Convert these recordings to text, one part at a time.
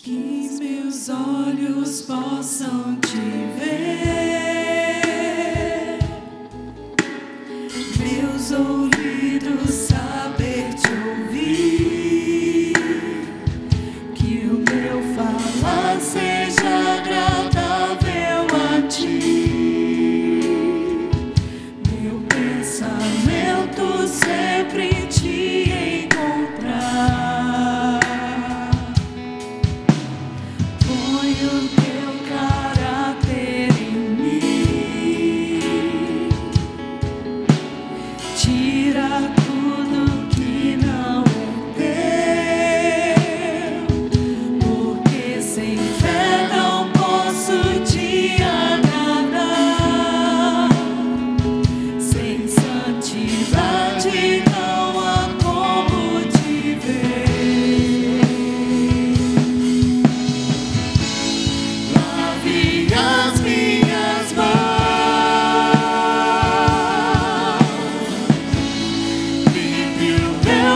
Que meus olhos possam te ver, meus ouvidos saber te ouvir, que o meu falar seja agradável a ti, meu pensamento sempre te encontrar. Põe o teu caráter em mim, tira tudo que não é teu, porque sem fé não posso te agradar, sem santidade não há como te ver. Lave as minhas mãos, limpe o meu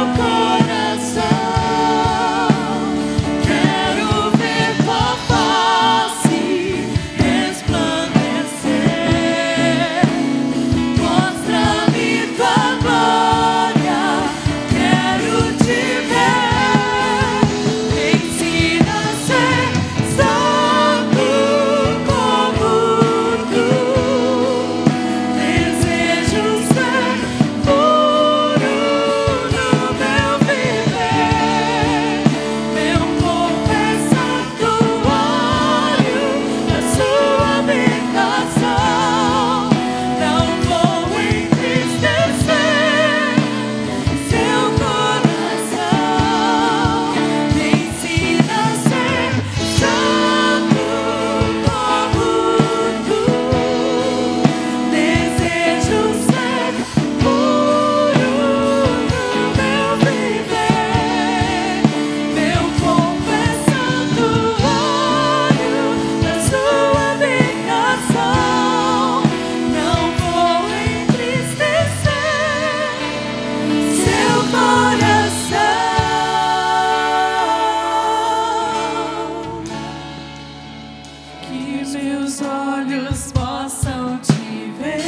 coração. Quero ver tua face resplandecer. Mostra-me tua glória, quero te ver. Ensina a ser santo como tu. Desejo ser puro no meu viver. Meu corpo é santuário da sua habitação. Não vou entristecer seu coração. Me ensina a ser santo como tu. Desejo ser puro no meu viver. Meu corpo é santuário da sua habitação. Não vou entristecer seu coração. Que meus olhos possam te ver,